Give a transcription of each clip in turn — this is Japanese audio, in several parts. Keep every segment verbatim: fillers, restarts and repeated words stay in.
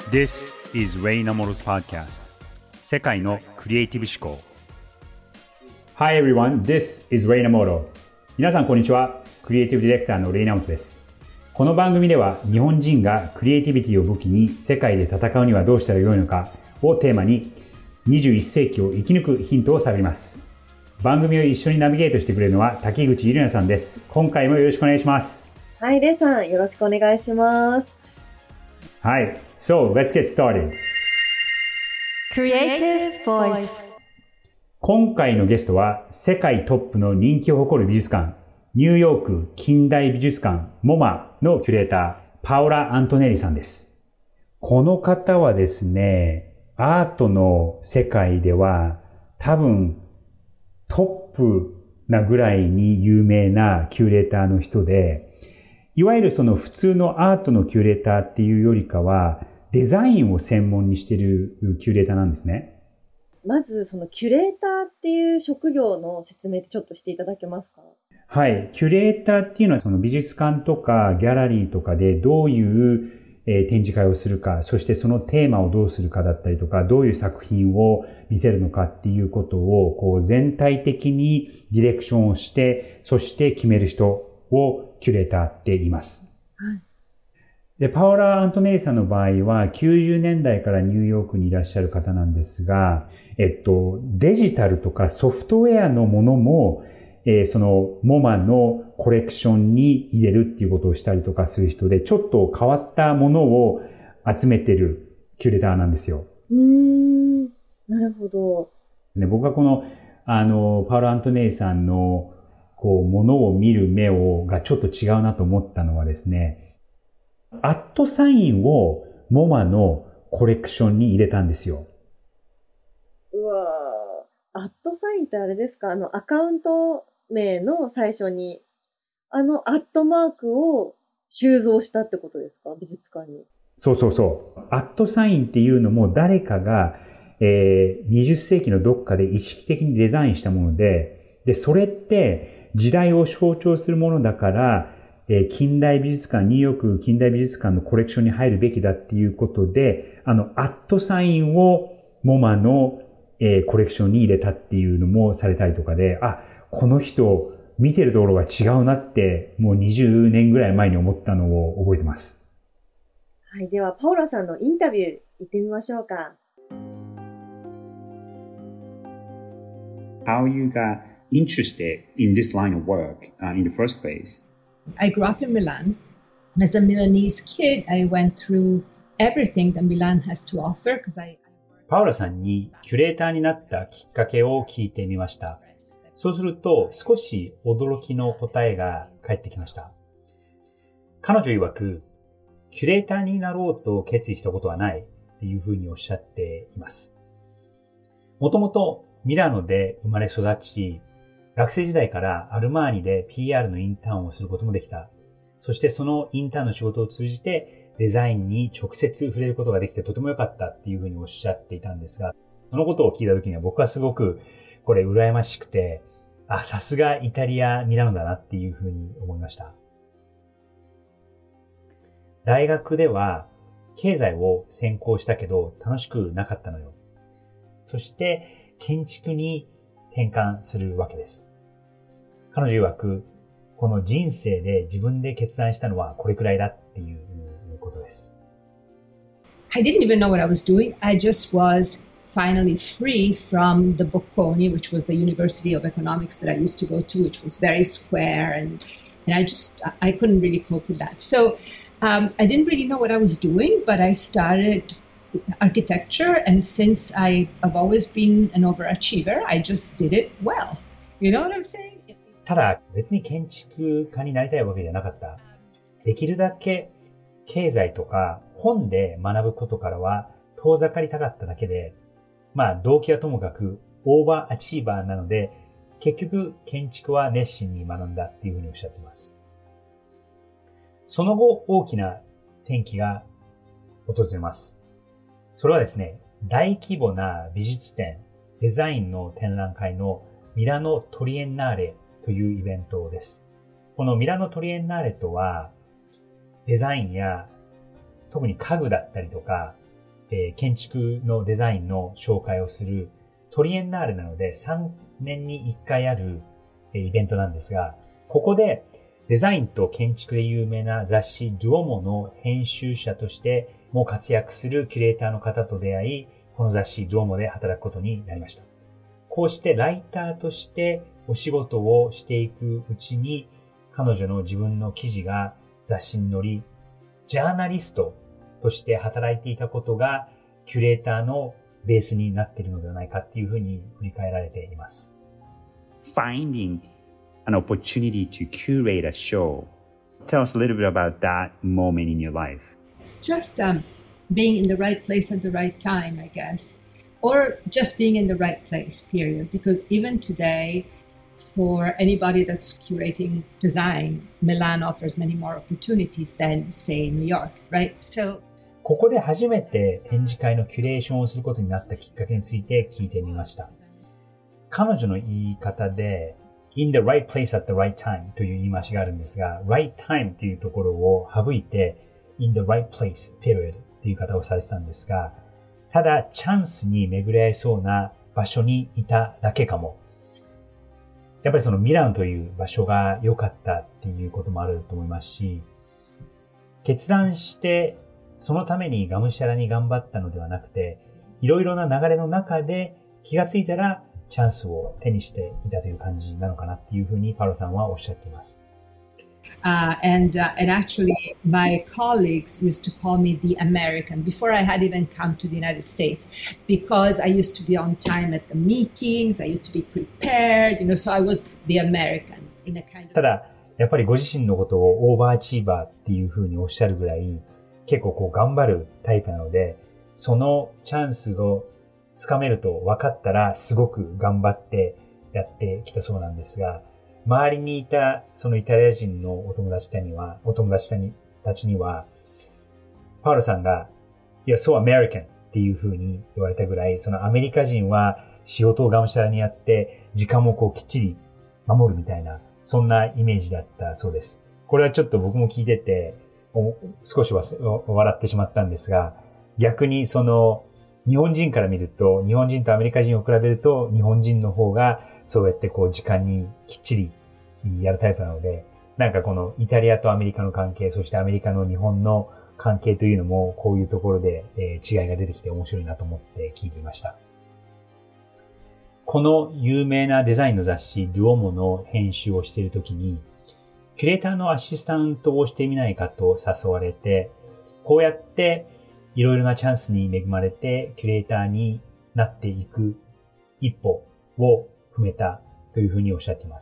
This is Ray Namoro's podcast. 世界のクリエイティブ思考。Hi everyone, this is Ray Namoro. 皆さんこんにちは。クリエイティブディレクターのレイナモトです。この番組では日本人がクリエイティビティを武器に世界で戦うにはどうしたらよいのかをテーマににじゅういっ世紀を生き抜くヒントを探ります。番組を一緒にナビゲートしてくれるのは滝口ゆりなさんです。今回もよろしくお願いします。 はい、レイさんよろしくお願いします。 はい、So let's get started. Creative Voice。 今回のゲストは世界トップの人気を誇る美術館、ニューヨーク近代美術館モマのキュレーター、パオラ・アントネリさんです。この方はですね、アートの世界では多分トップなぐらいに有名なキュレーターの人で、いわゆるその普通のアートのキュレーターっていうよりかは、デザインを専門にしているキュレーターなんですね。 まずそのキュレーターっていう職業の説明ってちょっとしていただけますか？ はい。キュレーターっていうのはその美術館とかギャラリーとかでどういう展示会をするか、そしてそのテーマをどうするかだったりとか、どういう作品を見せるのかっていうことをこう全体的にディレクションをして、そして決める人をキュレーターって言います。 はい。 で、パオラ・アントネリさんの場合はきゅうじゅうねんだいからニューヨークにいらっしゃる方なんですが、えっと、デジタルとかソフトウェアのものも、えー、そのモマのコレクションに入れるっていうことをしたりとかする人で、ちょっと変わったものを集めてるキュレーターなんですよ。 うーん、なるほど。 ね、僕はこの、あの、パオラ・アントネリさんのこう、ものを見る目を、がちょっと違うなと思ったのはですね、アットサインをモマのコレクションに入れたんですよ。 うわー、アットサインってあれですか？あの、アカウント名の最初に、あのアットマークを収蔵したってことですか？美術館に。 そうそうそう。アットサインっていうのも誰かが、えー、にじゅっ世紀のどっかで意識的にデザインしたもので、で、それって、時代を象徴するものだから、えー、近代美術館、ニューヨーク近代美術館のコレクションに入るべきだっていうことで、あの、アットサインをモマの、えー、コレクションに入れたっていうのもされたりとかで、あ、この人、見てるところが違うなって、もうにじゅうねんぐらい前に思ったのを覚えてます。 はい、では、パオラさんのインタビュー行ってみましょうか。 How you got interested in this line of work uh, in the first place? I grew up in Milan. As a Milanese kid, I went through everything that Milan has to offer because I... パオラさんにキュレーターになったきっかけを聞いてみました。そうすると少し驚きの答えが返ってきました。彼女曰く、キュレーターになろうと決意したことはないっていうふうにおっしゃっています。もともとミラノで生まれ育ち、学生時代からアルマーニで ピーアール のインターンをすることもできた。そしてそのインターンの仕事を通じてデザインに直接触れることができてとても良かったっていうふうにおっしゃっていたんですが、そのことを聞いた時には僕はすごくこれ羨ましくて、あ、さすがイタリア・ミラノだなっていうふうに思いました。大学では経済を専攻したけど楽しくなかったのよ。そして建築に転換するわけです。彼女曰く、この人生で自分で決断したのはこれくらいだっていうことです。 I didn't even know what I was doing. I just was finally free from the Bocconi, which was the University of Economics that I used to go to, which was very square, and and I just I couldn't really cope with that. So um, I didn't really know what I was doing, but I started architecture, and since I, I've always been an overachiever, I just did it well. You know what I'm saying? ただ別に建築家になりたいわけじゃなかった。できるだけ経済とか本で学ぶことからは遠ざかりたかっただけで、まあ動機はともかくオーバーアチーバーなので、結局建築は熱心に学んだっていうふうにおっしゃっています。その後大きな転機が訪れます。それはですね、大規模な美術展、デザインの展覧会のミラノトリエンナーレというイベントです。このミラノトリエンナーレとは、デザインや特に家具だったりとか、 えー、建築のデザインの紹介をするトリエンナーレなのでさんねんにいっかいある、えー、イベントなんですが、ここでデザインと建築で有名な雑誌ドゥオモの編集者としても活躍するキュレーターの方と出会い、この雑誌ドゥオモで働くことになりました。こうしてライターとしてお仕事をしていくうちに、彼女の自分の記事が雑誌に載り、ジャーナリストとして働いていたことがキュレーターのベースになっているのではないかっていうふうに振り返られています。 Finding an opportunity to curate a show. Tell us a little bit about that moment in your life. It's just um, being in the right place at the right time, I guess. Or just being in the right place, period. Because even today, for anybody that's curating design, Milan offers many more opportunities than, say, New York, right? So, ここで初めて展示会のキュレーションをすることになったきっかけについて聞いてみました。彼女の言い方で、in the right place at the right time という言い回しがあるんですが、right time というところを省いて、in the right place, period という言い方をされてたんですが、ただチャンスに巡り合いそうな場所にいただけかも。やっぱりそのミラノという場所が良かったっていうこともあると思いますし、決断してそのためにがむしゃらに頑張ったのではなくて、いろいろな流れの中で気がついたらチャンスを手にしていたという感じなのかなっていうふうにパロさんはおっしゃっています。 Uh, and uh, and actually, my colleagues used to call me the American before I had even come to the United States, because I used to be on time at the meetings. I used to be prepared, you know. So I was the American in a kind of. ただやっぱりご自身のことをオーバーアチーバーっていうふうにおっしゃるぐらい結構こう頑張るタイプなので、そのチャンスをつかめると分かったらすごく頑張ってやってきたそうなんですが。周りにいたそのイタリア人のお友達たちには、お友達たちには、パウロさんが、いや、そうアメリカンっていう風に言われたぐらい、そのアメリカ人は仕事をがむしゃらにやって、時間もこうきっちり守るみたいな、そんなイメージだったそうです。これはちょっと僕も聞いてて、少し笑ってしまったんですが、逆にその、日本人から見ると、日本人とアメリカ人を比べると、日本人の方が、そうやってこう時間にきっちりやるタイプなので、なんかこのイタリアとアメリカの関係、そしてアメリカの日本の関係というのもこういうところで、えー、違いが出てきて面白いなと思って聞いていました。この有名なデザインの雑誌ドゥオモの編集をしているときに、キュレーターのアシスタントをしてみないかと誘われて、こうやっていろいろなチャンスに恵まれてキュレーターになっていく一歩を踏めたというふうにおっしゃっています。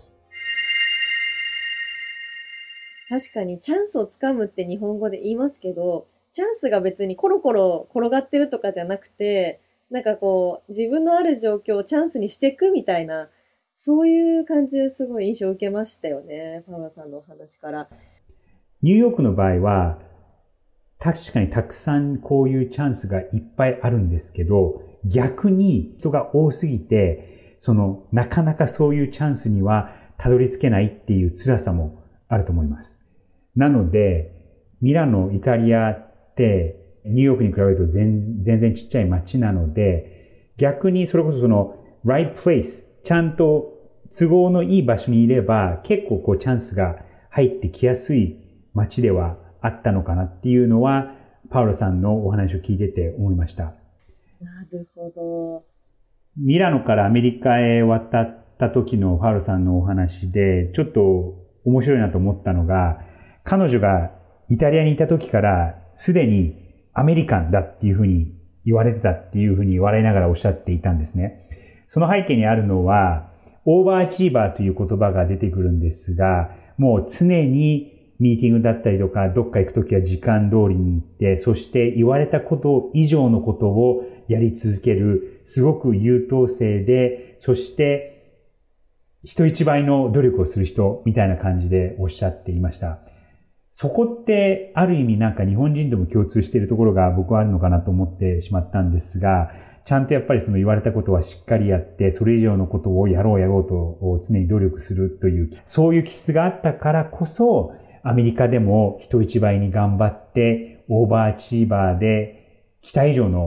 確かにチャンスをつかむって日本語で言いますけど、チャンスが別にコロコロ転がってるとかじゃなくて、なんかこう自分のある状況をチャンスにしていくみたいな、そういう感じですごい印象を受けましたよね、パウロさんのお話から。 ニューヨークの場合は確かにたくさんこういうチャンスがいっぱいあるんですけど、逆に人が多すぎて、その、なかなかそういうチャンスにはたどり着けないっていう辛さもあると思います。なので、ミラノ、イタリアってニューヨークに比べると全然ちっちゃい街なので、逆にそれこそその、right place、ちゃんと都合のいい場所にいれば結構こうチャンスが入ってきやすい街ではあったのかなっていうのは、パウロさんのお話を聞いてて思いました。 なるほど。 ミラノからアメリカへ渡った時のパウロさんのお話で、ちょっと面白いなと思ったのが、彼女がイタリアにいた時からすでにアメリカンだっていうふうに言われてたっていうふうに笑いながらおっしゃっていたんですね。その背景にあるのは、オーバーアチーバーという言葉が出てくるんですが、もう常にミーティングだったりとか、どっか行くときは時間通りに行って、そして言われたこと以上のことをやり続ける、すごく優等生で、そして人一倍の努力をする人みたいな感じでおっしゃっていました。そこってある意味なんか日本人とも共通しているところが僕はあるのかなと思ってしまったんですが、ちゃんとやっぱりその言われたことはしっかりやって、それ以上のことをやろうやろうと常に努力するという、そういう気質があったからこそ、アメリカでも人一倍に頑張って、オーバーアチーバーで、期待以上の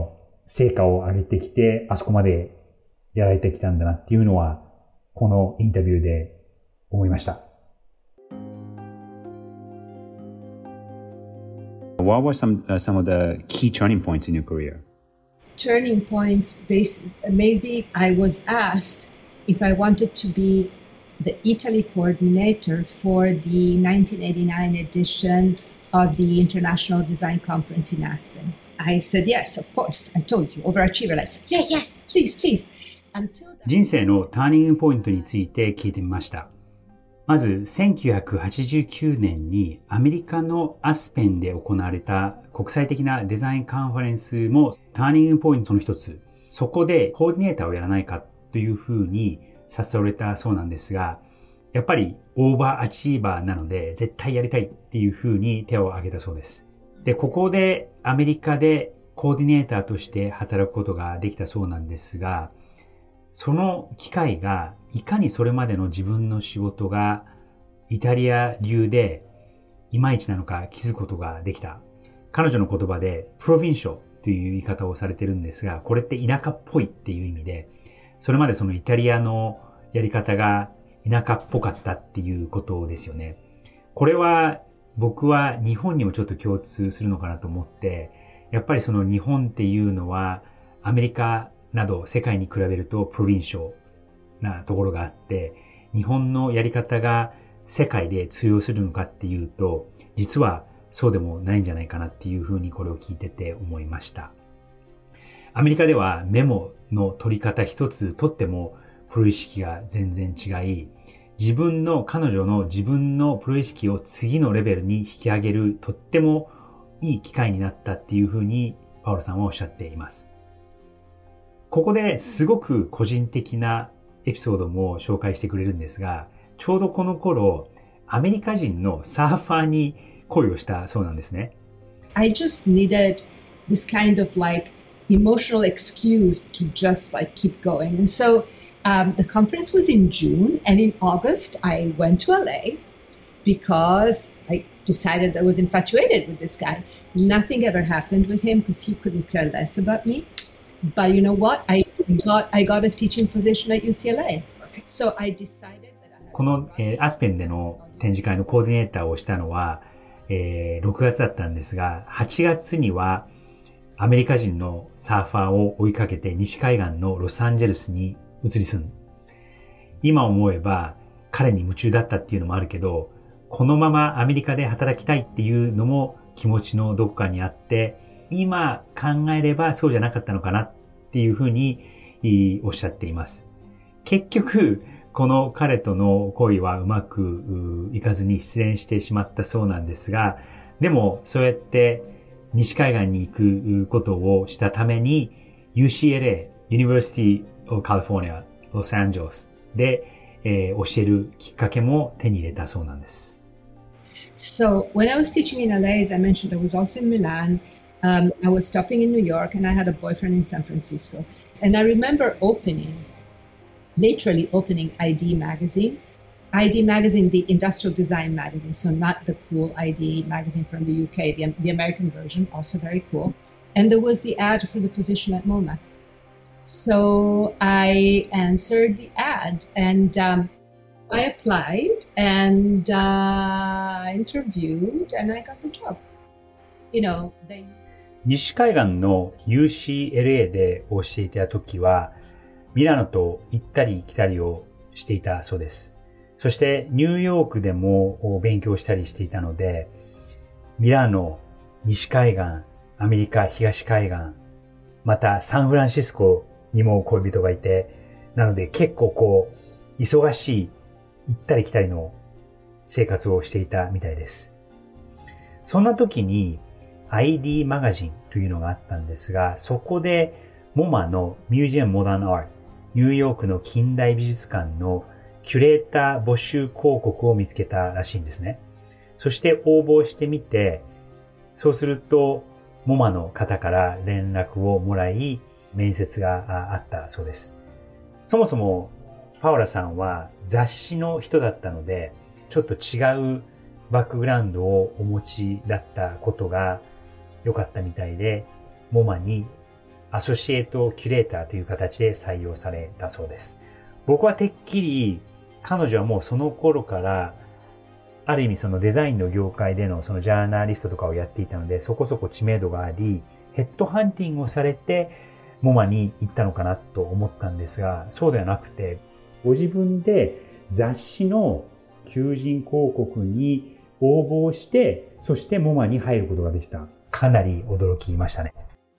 成果を上げてきて、あそこまでやられてきたんだなっていうのは、このインタビューで思いました。 What were some, uh, some of the key turning points in your career? Turning points, based, maybe I was asked if I wanted to be the Italy coordinator for the nineteen eighty-nine edition of the International Design Conference in Aspen. I said, yes, of course. I told you, overachiever, like, yeah, yeah, please, please. Until that... 人生のターニングポイントについて聞いてみました。まず、せんきゅうひゃくはちじゅうきゅうねんにアメリカのアスペンで行われた国際的なデザインカンファレンスもターニングポイントの一つ。そこでコーディネーターをやらないかというふうに誘われたそうなんですが、やっぱりオーバーアチーバーなので絶対やりたいっていうふうに手を挙げたそうです。で、ここでアメリカでコーディネーターとして働くことができたそうなんですが、その機会がいかにそれまでの自分の仕事がイタリア流でいまいちなのか気づくことができた。彼女の言葉でプロヴィンショという言い方をされてるんですが、これって田舎っぽいっていう意味で、それまでそのイタリアのやり方が田舎っぽかったっていうことですよね。これは僕は日本にもちょっと共通するのかなと思って、やっぱりその日本っていうのはアメリカなど世界に比べるとプロヴィンショなところがあって、日本のやり方が世界で通用するのかっていうと、実はそうでもないんじゃないかなっていうふうにこれを聞いてて思いました。アメリカではメモの取り方一つ取ってもプロ意識が全然違い、自分の彼女の自分のプロ意識を次のレベルに引き上げるとってもいい機会になったっていうふうにパウロさんはおっしゃっています。ここですごく個人的なエピソードも紹介してくれるんですが、ちょうどこの頃アメリカ人のサーファーに恋をしたそうなんですね。 I just needed this kind of like emotional excuse to just like keep going. And so um, the conference was in June, and in August I went to L A because I decided that I was infatuated with this guy. Nothing ever happened with him because he couldn't care less about me. But you know what? I got I got a teaching position at U C L A. So I decided that I had この、えー、アスペンでの展示会のコーディネーターをしたのは、えー、ろくがつだったんですが、はちがつにはアメリカ人のサーファーを追いかけて西海岸のロサンゼルスに移り住む。今思えば彼に夢中だったっていうのもあるけど、このままアメリカで働きたいっていうのも気持ちのどこかにあって、今考えればそうじゃなかったのかなっていうふうにおっしゃっています。結局、この彼との恋はうまくいかずに失恋してしまったそうなんですが、でもそうやって西海岸に行くことをしたために ユーシーエルエー、University of California, Los Angeles で、えー、教えるきっかけも手に入れたそうなんです。 So when I was teaching in L A, as I mentioned, I was also in Milan. Um, I was stopping in New York, and I had a boyfriend in San Francisco. And I remember opening, literally opening I D magazine. I D magazine, the industrial design magazine, so not the cool I D magazine from the U K, the, the American version, also very cool. And there was the ad for the position at MoMA. So I answered the ad, and um, I applied, and uh, interviewed, and I got the job. You know, they... 西海岸の ユーシーエルエー で教えていた時は、ミラノと行ったり来たりをしていたそうです。そしてニューヨークでも勉強したりしていたので、ミラノ、西海岸、アメリカ東海岸、またサンフランシスコにも恋人がいて、なので結構こう、忙しい行ったり来たりの生活をしていたみたいです。そんな時に アイディー マガジンというのがあったんですが、そこでモマのミュージアムモダンアート、ニューヨークの近代美術館のキュレーター募集広告を見つけたらしいんですね。そして応募してみて、そうするとモマの方から連絡をもらい、面接があったそうです。そもそもパオラさんは雑誌の人だったので、ちょっと違うバックグラウンドをお持ちだったことが良かったみたいで、モマにアソシエイトキュレーターという形で採用されたそうです。僕はてっきり彼女はもうその頃からある意味そのデザインの業界でのそのジャーナリストとかをやっていたので、そこそこ知名度があり、ヘッドハンティングをされてモマに行ったのかなと思ったんですが、そうではなくて、ご自分で雑誌の求人広告に応募して、そしてモマに入ることができた。かなり驚きましたね。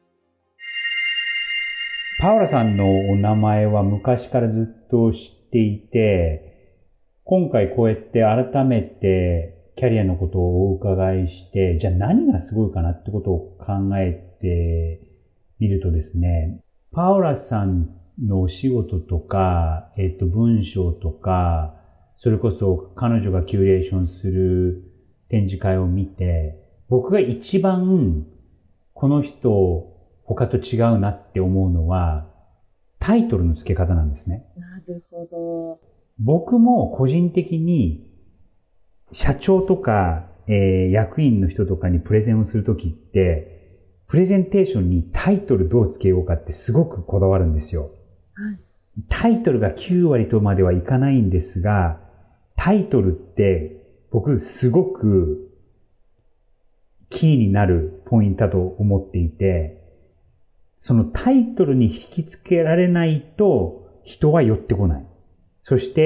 パウラさんのお名前は昔からずっと知っていて、今回こうやって改めてキャリアのことをお伺いして、じゃあ何がすごいかなってことを考えてみるとですね、パウラさんのお仕事とか、えっと、文章とか、それこそ彼女がキュレーションする展示会を見て、僕が一番この人他と違うなって思うのは、タイトルの付け方なんですね。 なるほど。 僕も個人的に社長とか、えー、役員の人とかにプレゼンをするときって、プレゼンテーションにタイトルどう付けようかってすごくこだわるんですよ。 はい、 タイトルがきゅうわりとまではいかないんですが、タイトルって僕すごくキーになるポイントだと思っていて、そのタイトルに引きつけられないと人は寄ってこない。そして、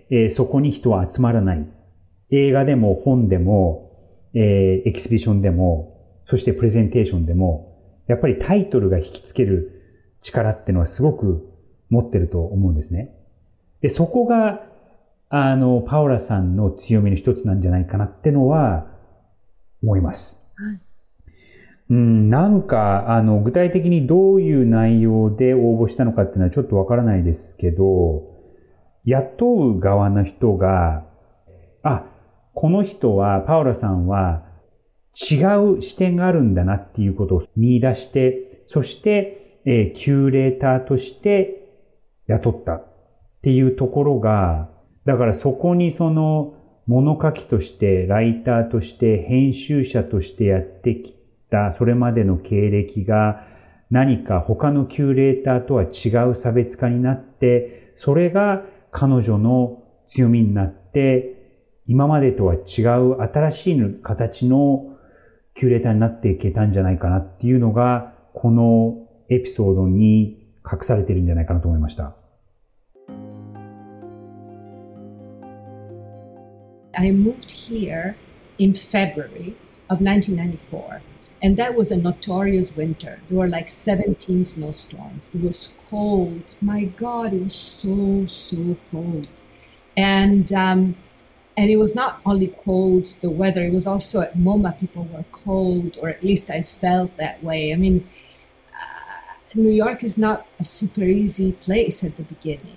えー、そこに人は集まらない。映画でも本でも、えー、エキシビションでも、そしてプレゼンテーションでも、やっぱりタイトルが引きつける力っていうのはすごく持ってると思うんですね。で、そこが、あの、パウラさんの強みの一つなんじゃないかなってのは思います。 はい。 うん、なんか、あの、具体的にどういう内容で応募したのかっていうのはちょっとわからないですけど、雇う側の人が、あ、この人は、パウラさんは違う視点があるんだなっていうことを見出して、そして、えー、キュレーターとして雇ったっていうところが、だからそこにその物書きとして、ライターとして、編集者としてやってきた、それまでの経歴が何か他のキュレーターとは違う差別化になって、それが彼女の強みになって、今までとは違う新しい形のキュレーターになっていけたんじゃないかなっていうのが、このエピソードに隠されているんじゃないかなと思いました。 I moved here in February of nineteen ninety-four, and that was a notorious winter. There were like seventeen snowstorms. It was cold. My God, it was so, so cold. And, um, and it was not only cold, the weather, it was also at MoMA, people were cold, or at least I felt that way. I mean, uh, New York is not a super easy place at the beginning.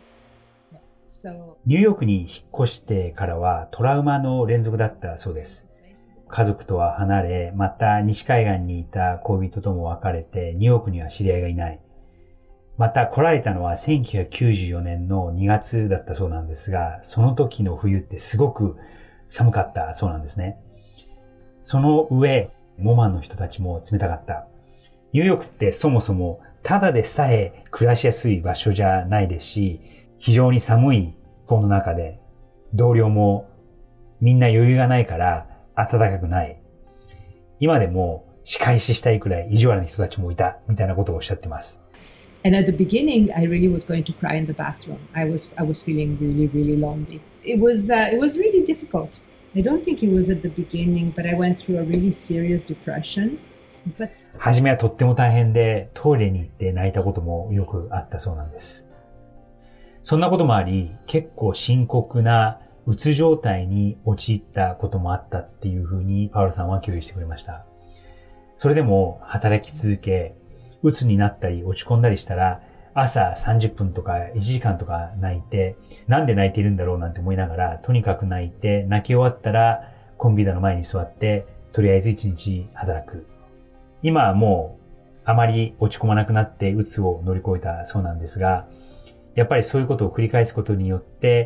So, ニューヨークに引っ越してからはトラウマの連続だったそうです。家族とは離れ、また西海岸にいた恋人とも別れて、ニューヨークには知り合いがいない。また来られたのはせんきゅうひゃくきゅうじゅうよねんのにがつだったそうなんですが、その時の冬ってすごく寒かったそうなんですね。その上、モマの人たちも冷たかった。ニューヨークってそもそもただでさえ暮らしやすい場所じゃないですし、非常に寒いこの中で、同僚もみんな余裕がないから暖かくない。今でも仕返ししたいくらい意地悪な人たちもいたみたいなことをおっしゃってます。 And at the beginning, I really was going to cry in the bathroom. I was I was feeling really, really lonely. It was uh, it was really difficult. I don't think it was at the beginning, but I went through a really serious depression. But 初めはとっても大変で、トイレに行って泣いたこともよくあったそうなんです。そんなこともあり、結構深刻なうつ状態に陥ったこともあったっていうふうにパウロさんは共有してくれました。それでも働き続け、うつになったり落ち込んだりしたら、朝さんじゅっぷんとかいちじかんとか泣いて、なんで泣いているんだろうなんて思いながら、とにかく泣いて、泣き終わったらコンピューターの前に座って、とりあえず一日働く。今はもうあまり落ち込まなくなってうつを乗り越えたそうなんですが、やっぱりそういうことを繰り返すことによって、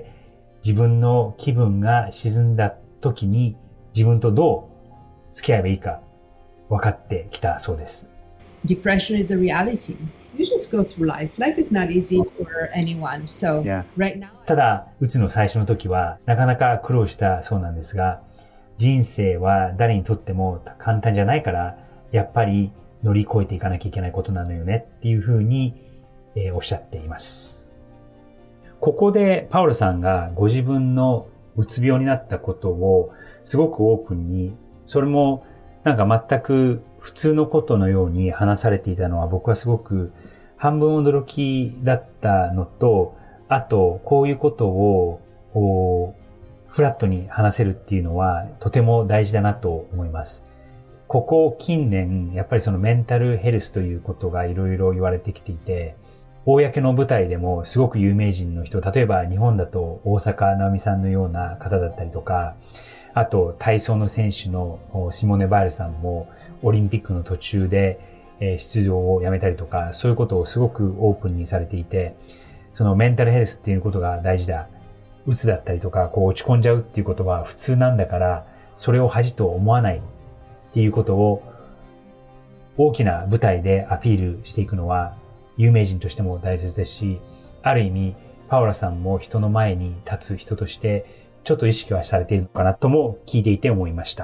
自分の気分が沈んだ時に自分とどう付き合えばいいか分かってきたそうです。 depression is a reality. You just go through life. Life is not easy for anyone. So Yeah. right now, ただ、うつの最初の時はなかなか苦労したそうなんですが、人生は誰にとっても簡単じゃないから、やっぱり乗り越えていかなきゃいけないことなのよねっていうふうに、えー、おっしゃっています。ここでパウロさんがご自分のうつ病になったことをすごくオープンに、それもなんか全く普通のことのように話されていたのは僕はすごく半分驚きだったのと、あとこういうことをこうフラットに話せるっていうのはとても大事だなと思います。ここ近年やっぱりそのメンタルヘルスということがいろいろ言われてきていて、公の舞台でもすごく有名人の人、例えば日本だと大坂なおみさんのような方だったりとか、あと体操の選手のシモネ・バイルさんもオリンピックの途中で出場をやめたりとか、そういうことをすごくオープンにされていて、そのメンタルヘルスっていうことが大事だ。うつだったりとか、こう落ち込んじゃうっていうことは普通なんだから、それを恥と思わないっていうことを大きな舞台でアピールしていくのは有名人としても大切ですし、ある意味パウラさんも人の前に立つ人としてちょっと意識はされているのかなとも聞いていて思いました。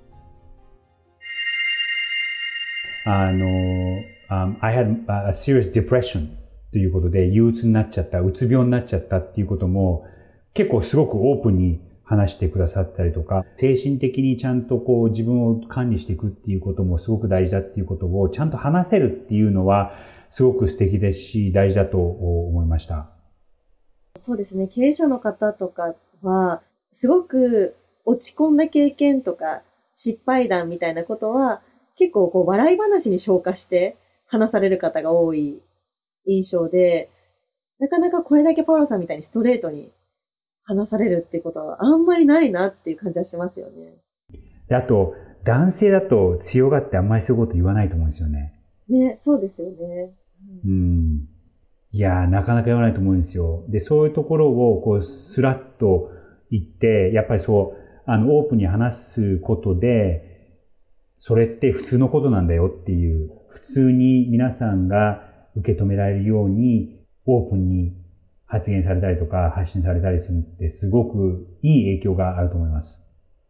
あの、um, I had a serious depression ということで、憂鬱になっちゃった、うつ病になっちゃったっていうことも結構すごくオープンに話してくださったりとか、精神的にちゃんとこう自分を管理していくっていうこともすごく大事だっていうことをちゃんと話せるっていうのはすごく素敵ですし、大事だと思いました。 そうですね。経営者の方とかは、すごく落ち込んだ経験とか失敗談みたいなことは結構こう笑い話に消化して話される方が多い印象で、なかなかこれだけパウロさんみたいにストレートに話されるっていうことはあんまりないなっていう感じはしますよね。 で、あと、男性だと強がってあんまりそういうこと言わないと思うんですよね。 ね、そうですよね。 うん。いやー、なかなか言わないと思うんですよ。で、そういうところをこうスラッと言って、やっぱりそう、あの、オープンに話すことで、それって普通のことなんだよっていう、普通に皆さんが受け止められるように、オープンに発言されたりとか発信されたりするってすごくいい影響があると思います。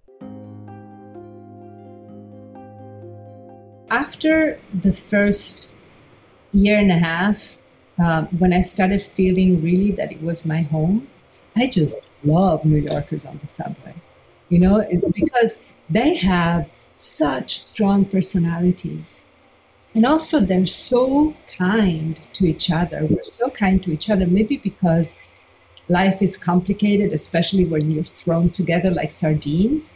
After the first year and a half, uh, when I started feeling really that it was my home, I just love New Yorkers on the subway, you know, it, because they have such strong personalities. And also they're so kind to each other. We're so kind to each other, maybe because life is complicated, especially when you're thrown together like sardines.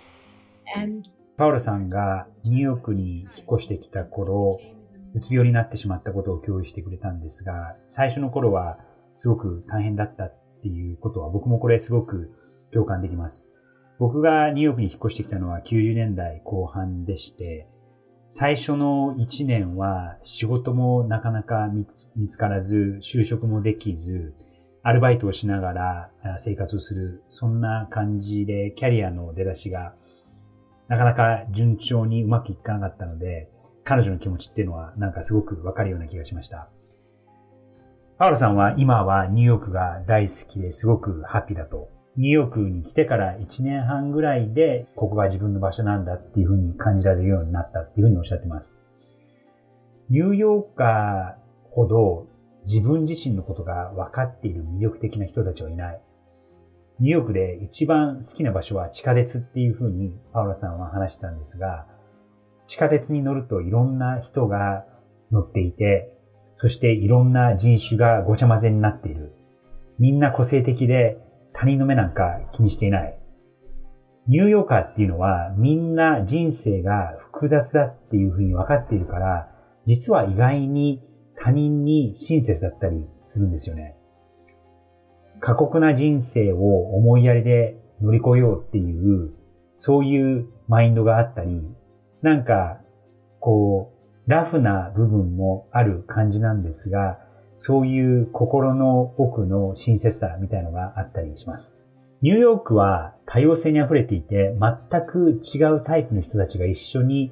And パウロさんがニューヨークに引っ越してきた頃、うつ病になってしまったことを共有してくれたんですが、最初の頃はすごく大変だったっていうことは僕もこれすごく共感できます。僕がニューヨークに引っ越してきたのはきゅうじゅうねんだいこう半でして、最初のいちねんは仕事もなかなか見つ、見つからず、就職もできず、アルバイトをしながら生活をする、そんな感じでキャリアの出だしがなかなか順調にうまくいかなかったので、彼女の気持ちっていうのはなんかすごくわかるような気がしました。パウロさんは今はニューヨークが大好きですごくハッピーだと。ニューヨークに来てからいちねんはんぐらいでここが自分の場所なんだっていうふうに感じられるようになったっていうふうにおっしゃってます。ニューヨーカーほど自分自身のことが分かっている魅力的な人たちはいない。ニューヨークで一番好きな場所は地下鉄っていうふうにパウロさんは話したんですが、地下鉄に乗るといろんな人が乗っていて、そしていろんな人種がごちゃ混ぜになっている。みんな個性的で他人の目なんか気にしていない。ニューヨーカーっていうのはみんな人生が複雑だっていうふうに分かっているから、実は意外に他人に親切だったりするんですよね。過酷な人生を思いやりで乗り越えようっていう、そういうマインドがあったり、なんか、こう、ラフな部分もある感じなんですが、そういう心の奥の親切さみたいのがあったりします。ニューヨークは多様性に溢れていて、全く違うタイプの人たちが一緒に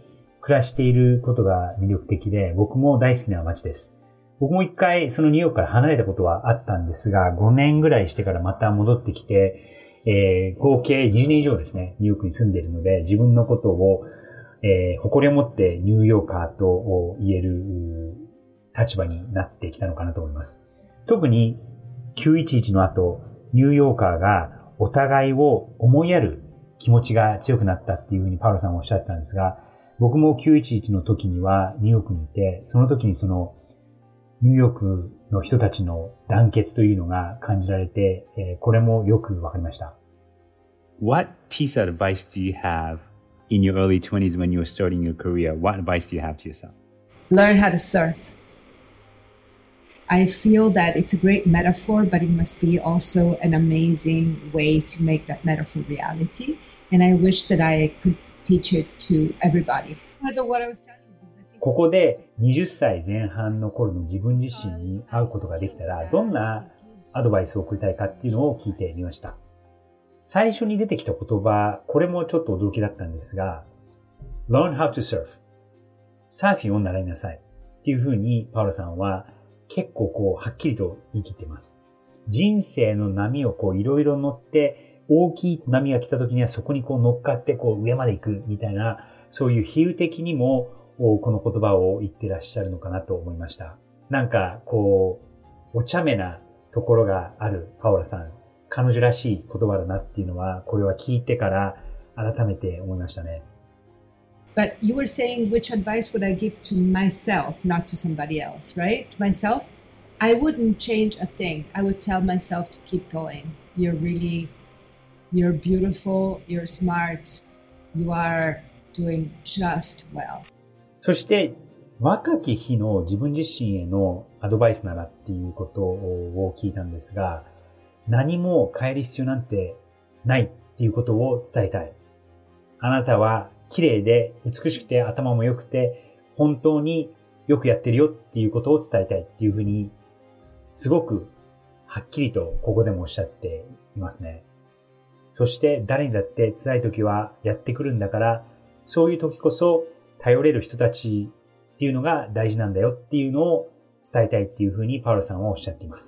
暮らしていることが魅力的で、僕も大好きな街です。僕も一回そのニューヨークから離れたことはあったんですが、ごねんぐらいしてからまた戻ってきて、えー、合計にじゅうねん以上ですね、ニューヨークに住んでいるので、自分のことを、えー、誇りを持ってニューヨーカーと言える立場になってきたのかなと思います。特にきゅういちいちの後、ニューヨーカーがお互いを思いやる気持ちが強くなったっていうふうにパウロさんはおっしゃったんですが、僕もきゅういちいちの時にはニューヨークにいて、その時にそのニューヨークの人たちの団結というのが感じられて、えー、これもよくわかりました。 What piece of advice do you have in your early twenties when you were starting your career? What advice do you have to yourself? Learn how to surf. I feel that it's a great metaphor, but it must be also an amazing way to make that metaphor reality. And I wish that I could teach it to everybody. Because of what I was telling you. ここではたちぜん半の頃の自分自身に会うことができたら、どんなアドバイスを送りたいかっていうのを聞いてみました。最初に出てきた言葉、これもちょっと驚きだったんですが、learn how to surf。サーフィンを習いなさい。っていうふうにパウロさんは結構こうはっきりと言い切っています。人生の波をこういろいろ乗って、大きい波が来た時にはそこにこう乗っかってこう上まで行くみたいな、そういう比喩的にもこの言葉を言ってらっしゃるのかなと思いました。なんかこう、お茶目なところがあるパオラさん、彼女らしい言葉だなっていうのは、これは聞いてから改めて思いましたね。 But you were saying which advice would I give to myself, not to somebody else, right? To myself, I wouldn't change a thing. I would tell myself to keep going. You're really, you're beautiful, you're smart, you are doing just well. そして、若き日の自分自身へのアドバイスならっていうことを聞いたんですが、何も変える必要なんてないっていうことを伝えたい。あなたは綺麗で美しくて頭も良くて本当によくやってるよっていうことを伝えたいっていうふうにすごくはっきりとここでもおっしゃっていますね。そして誰にだって辛い時はやってくるんだから、そういう時こそ頼れる人たちっていうのが大事なんだよっていうのを伝えたいっていうふうにパウロさんはおっしゃっています。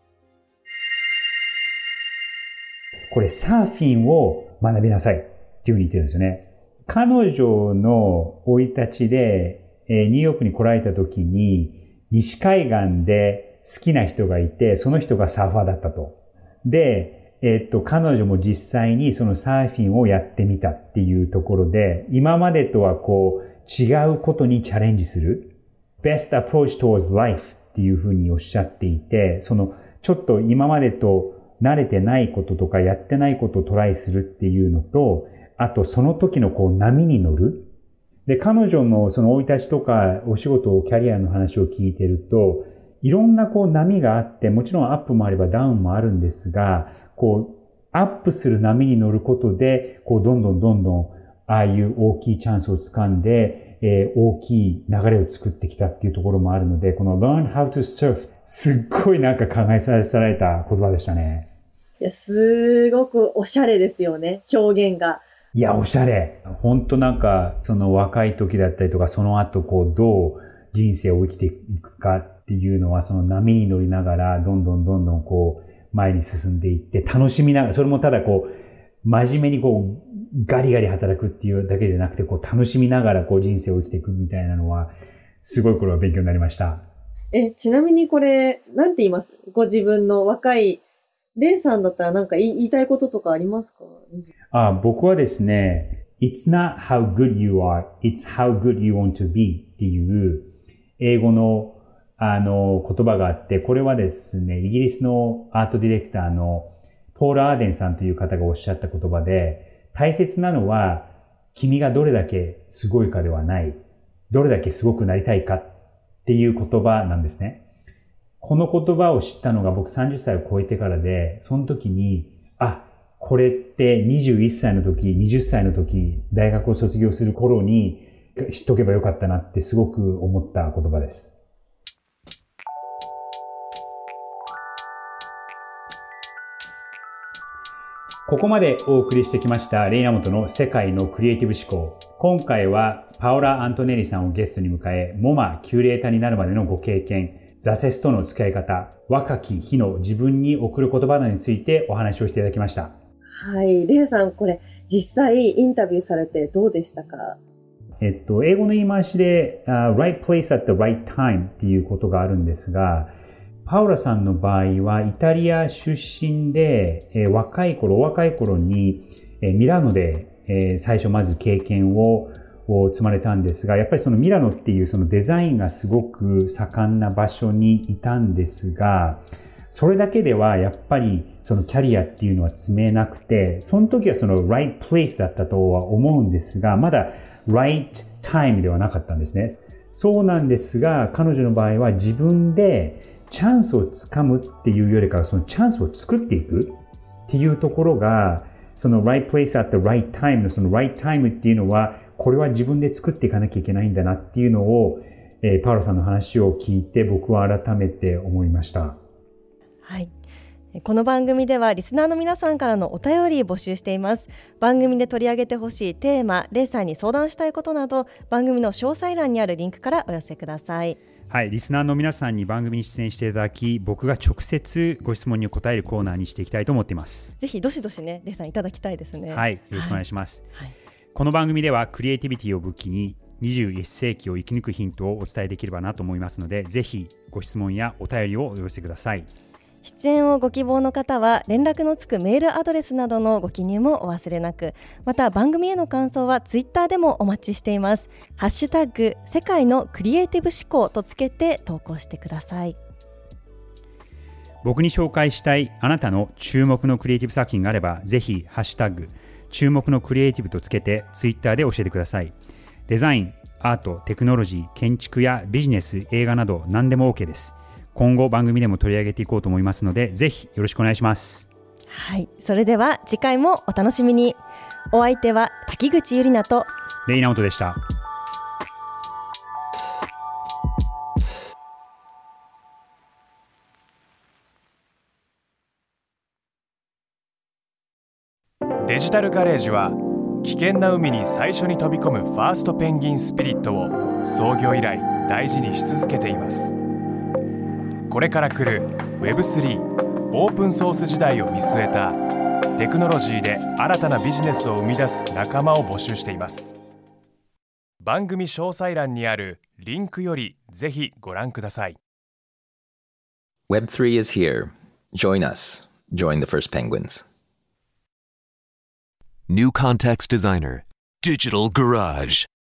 これサーフィンを学びなさいっていうふうに言ってるんですよね。彼女の生い立ちで、えー、ニューヨークに来られた時に西海岸で好きな人がいて、その人がサーファーだったと。で、えっと、彼女も実際にそのサーフィンをやってみたっていうところで、今までとはこう違うことにチャレンジする。best approach towards life っていうふうにおっしゃっていて、そのちょっと今までと慣れてないこととかやってないことをトライするっていうのと、あとその時のこう波に乗る。で、彼女のその生い立ちとかお仕事、キャリアの話を聞いてると、いろんなこう波があって、もちろんアップもあればダウンもあるんですが、こう、アップする波に乗ることで、こう、どんどんどんどん、ああいう大きいチャンスを掴んで、えー、大きい流れを作ってきたっていうところもあるので、この learn how to surf、すっごいなんか考えさせられた言葉でしたね。 いや、すごくおしゃれですよね、表現が。 いや、おしゃれ。ほんとなんか、その若い時だったりとか、その後こう、どう人生を生きていくかっていうのは、その波に乗りながら、どんどんどんどんこう、前に進んでいって楽しみながら、それもただこう、真面目にこう、ガリガリ働くっていうだけじゃなくて、こう、楽しみながらこう、人生を生きていくみたいなのは、すごいこれは勉強になりました。 え、ちなみにこれ、なんて言います？ご自分の若い、レイさんだったらなんか言い、言いたいこととかありますか？ あ、僕はですね、It's not how good you are, it's how good you want to be っていう英語のあの、言葉があって、これはですね、イギリスのアートディレクターのポール・アーデンさんという方がおっしゃった言葉で、大切なのは、君がどれだけすごいかではない、どれだけすごくなりたいかっていう言葉なんですね。この言葉を知ったのが僕さんじゅっさいを超えてからで、その時に、あ、これってにじゅういっさいの時、はたちの時、大学を卒業する頃に知っとけばよかったなってすごく思った言葉です。ここまでお送りしてきましたレイナモトの世界のクリエイティブ思考。 今回はパオラ・アントネリさんをゲストに迎え、モマキュレーターになるまでのご経験、挫折との付き合い方、若き日の自分に送る言葉などについてお話をしていただきました。 はい。レイさん、これ実際インタビューされてどうでしたか？ えっと、英語の言い回しで、uh, right place at the right time っていうことがあるんですが、パウラさんの場合はイタリア出身で、えー、若い頃、お若い頃に、えー、ミラノで、えー、最初まず経験を積まれたんですが、やっぱりそのミラノっていうそのデザインがすごく盛んな場所にいたんですが、それだけではやっぱりそのキャリアっていうのは積めなくて、その時はその right place だったとは思うんですが、まだright time ではなかったんですね。そうなんですが、彼女の場合は自分でチャンスをつかむっていうよりかは、そのチャンスを作っていくっていうところが、その right place at the right time のその right time っていうのは、これは自分で作っていかなきゃいけないんだなっていうのを、えー、パウロさんの話を聞いて僕は改めて思いました。 はい。この番組ではリスナーの皆さんからのお便り募集しています。番組で取り上げてほしいテーマ、レイさんに相談したいことなど、番組の詳細欄にあるリンクからお寄せください。 はい、リスナーの皆さんに番組に出演していただき、僕が直接ご質問に答えるコーナーにしていきたいと思っています。 ぜひどしどしね、レイさんいただきたいですね。 はい、よろしくお願いします。 はいはい、 この番組ではクリエイティビティを武器ににじゅういっ世紀を生き抜くヒントをお伝えできればなと思いますので、ぜひご質問やお便りをお寄せください。 出演をご希望の方は連絡のつくメールアドレスなどのご記入もお忘れなく、また番組への感想はツイッターでもお待ちしています。ハッシュタグ世界のクリエイティブ思考とつけて投稿してください。 僕に紹介したいあなたの注目のクリエイティブ作品があれば、ぜひハッシュタグ注目のクリエイティブとつけてツイッターで教えてください。デザイン、アート、テクノロジー、建築やビジネス、映画など何でも OK です。今後番組でも取り上げていこうと思いますので、ぜひよろしくお願いします。 はい、それでは次回もお楽しみに。お相手は滝口ゆりなとレイナオトでした。 デジタルガレージは危険な海に最初に飛び込むファーストペンギンスピリットを創業以来大事にし続けています。これから来る ウェブスリー オープンソース時代を見据えたテクノロジーで新たなビジネスを生み出す仲間を募集しています。番組詳細欄にあるリンクよりぜひご覧ください。 ウェブスリー is here. Join us. Join the first penguins. New Context Designer, Digital Garage.